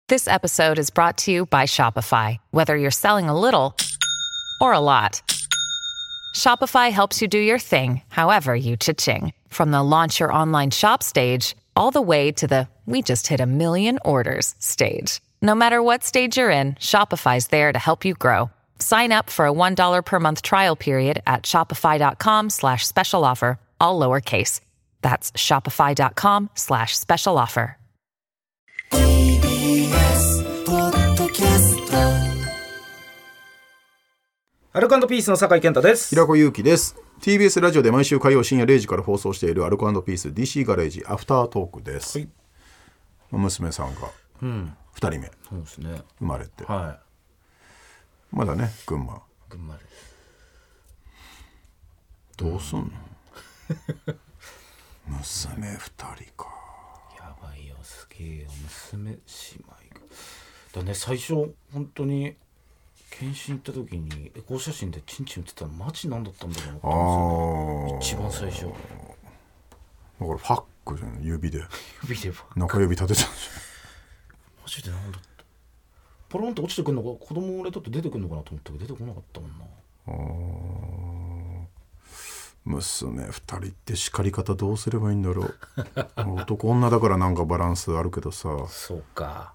This episode is brought to you by Shopify. Whether you're selling a little or a lot, Shopify helps you do your thing, however you cha-ching. From the launch your online shop stage, all the way to the we just hit 1 million orders stage. No matter what stage you're in, Shopify's there to help you grow. Sign up for a $1 per month trial period at shopify.com/special offer, all lowercase. That's shopify.com/special offer. TBS ポッドキャスト、アルコ&ピースの酒井健太です。 平子祐希です。 TBS ラジオで毎週火曜深夜0時から放送しているアルコ&ピース DC ガレージアフタートークです、はい、娘さんが2人目、 そうですね、 生まれて、 はい、 まだね群馬です。どうすんの、娘2人か。 やばいよ、すげえよ、娘姉妹がだね。最初本当に検診行った時にエコー写真でチンチン写ってたのマジなんだったんだろうと思ってたんですよ、一番最初。 だからファックじゃん、指で指でファック、 中指立てたんじゃん。 マジでなんだった、ポロンって落ちてくるのか、子供俺だって出てくるのかなと思ったけど出てこなかったもんな。 娘2人って叱り方どうすればいいんだろう。男女だからなんかバランスあるけどさ。 そうか、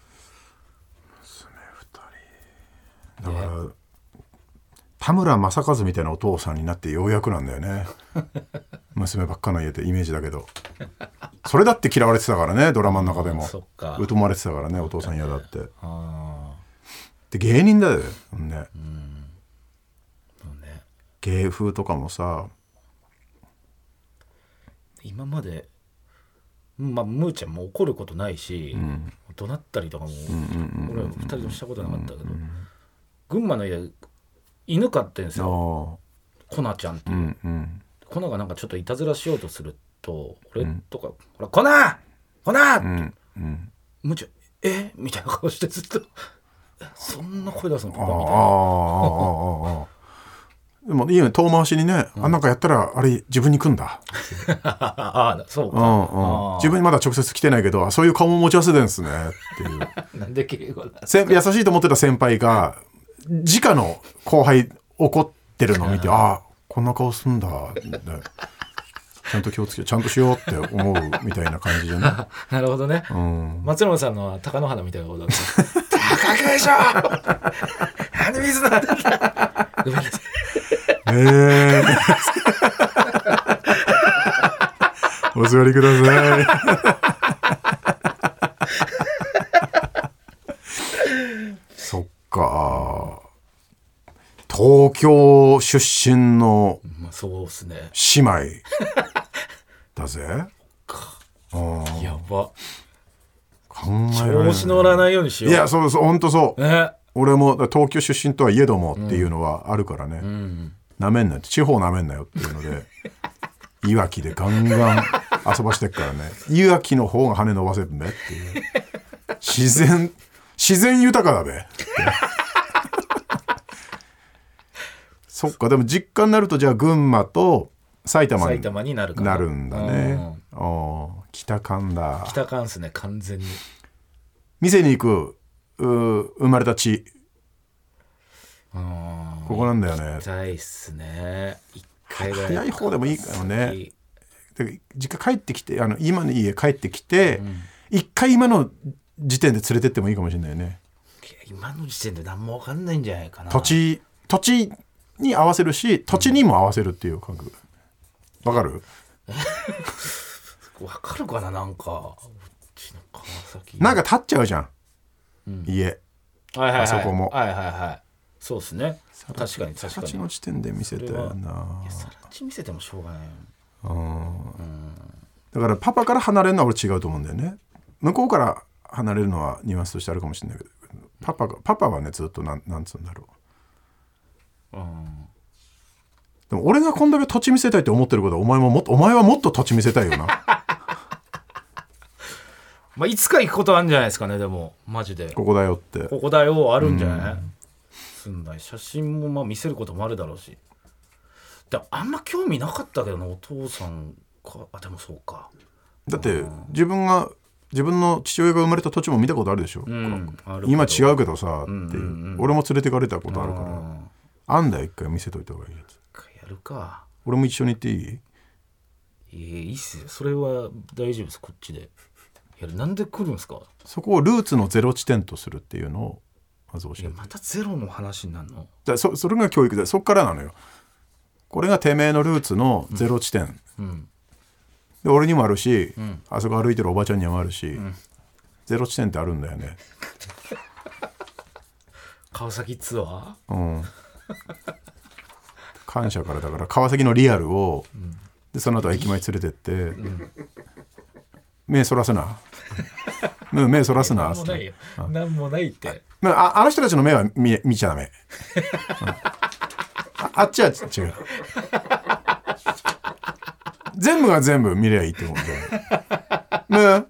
娘2人だから、田村正和みたいなお父さんになってようやくなんだよね。娘ばっかの家ってイメージだけど、それだって嫌われてたからね、ドラマの中でも疎まれてたからね、お父さん嫌だって。で芸人だよね、芸風とかもさ、 今までまあむーちゃんも怒ることないし、怒鳴ったりとかも、俺は2人ともしたことなかったけど、群馬の家犬飼ってんですよ、コナちゃんっていう、コナがなんかちょっといたずらしようとすると、俺とか、ほらコナコナって、むーちゃんみたいな顔してずっとそんな声出すのパパみたいな。 でもいいよね、遠回しにね、なんかやったらあれ自分に来んだ。 そうか、 自分にまだ直接来てないけど、そういう顔も持ち合わせてるんですねっていう。 なんで敬語だ、 優しいと思ってた先輩が直の後輩怒ってるのを見て、こんな顔すんだ、ちゃんと気をつけ、ちゃんとしようって思うみたいな感じじゃない。 なるほどね、松村さんのは貴乃花みたいなことだった。高木でしょなんで水なんだごめんなさい。 お座りください。そっか、東京出身のそうっすね、 姉妹だぜ。 やば、 考えられない。 調子乗らないようにしよう。 いや、そうそう、本当そう、 ね、 俺も東京出身とはいえどもっていうのはあるからね、なめんなよ、地方なめんなよっていうのでいわきでガンガン遊ばしてっからね。いわきの方が羽伸ばせるんだよっていう、自然豊かだべそっか、でも実家になるとじゃあ群馬と埼玉になるんだね。北関だ。 北関っすね、完全に。 店に行く生まれた地、ここなんだよね。 行きたいっすね、一回ぐらい。 早い方でもいいからね。で実家帰ってきて、今の家帰ってきて、一回今の時点で連れてってもいいかもしれないね。 今の時点で何も分かんないんじゃないかな。 土地に合わせるし、土地にも合わせるっていう感覚。わかる？ 分かるかな、なんかうちの川崎なんか立っちゃうじゃん、家、あそこも。 そうっすね、確かにさら地の地点で見せたよな。 さら地見せてもしょうがない。 だからパパから離れるのは俺違うと思うんだよね。向こうから離れるのはニュアンスとしてあるかもしれないけど、パパはねずっとなんつうんだろう。でも俺がこんだけ土地見せたいって思ってることは、お前はもっと土地見せたいよな。 まあいつか行くことあるんじゃないですかね。でもマジでここだよって、 ここだよあるんじゃない、住んだ写真もまあ見せることもあるだろうし。でもあんま興味なかったけどな、お父さんか。でもそうか。 だって自分が自分の父親が生まれた土地も見たことあるでしょ、今違うけどさっていう、俺も連れてかれたことあるからあんだよ、一回見せといた方がいいやつ。 やるか。 俺も一緒に行っていい？ いいっすよ、それは大丈夫です。こっちでなんで来るんですか？ そこをルーツのゼロ地点とするっていうのをまず教えて。 またゼロの話になるの？ それが教育で、そっからなのよ。これがてめえのルーツのゼロ地点、で俺にもあるし、あそこ歩いてるおばちゃんにもあるし、ゼロ地点ってあるんだよね。 川崎ツアー、感謝からだから川崎のリアルを、でその後駅前連れてって、目そらすな目そらすななんもないよ、なんもないって。 あの人たちの目は見ちゃダメ、あっちは違う全部が全部見りゃいいってことで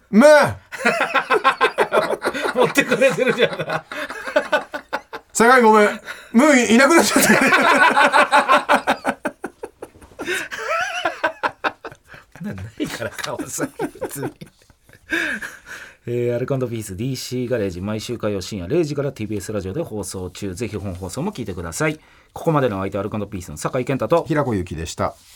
持ってくれてるじゃん。 酒井ごめん、ムーいなくなっちゃったないから川崎別にアルコ&ピース DC ガレージ、毎週火曜深夜0時から TBS ラジオで放送中。ぜひ本放送も聞いてください。ここまでの相手アルコ&ピースの酒井健太と平子ゆきでした。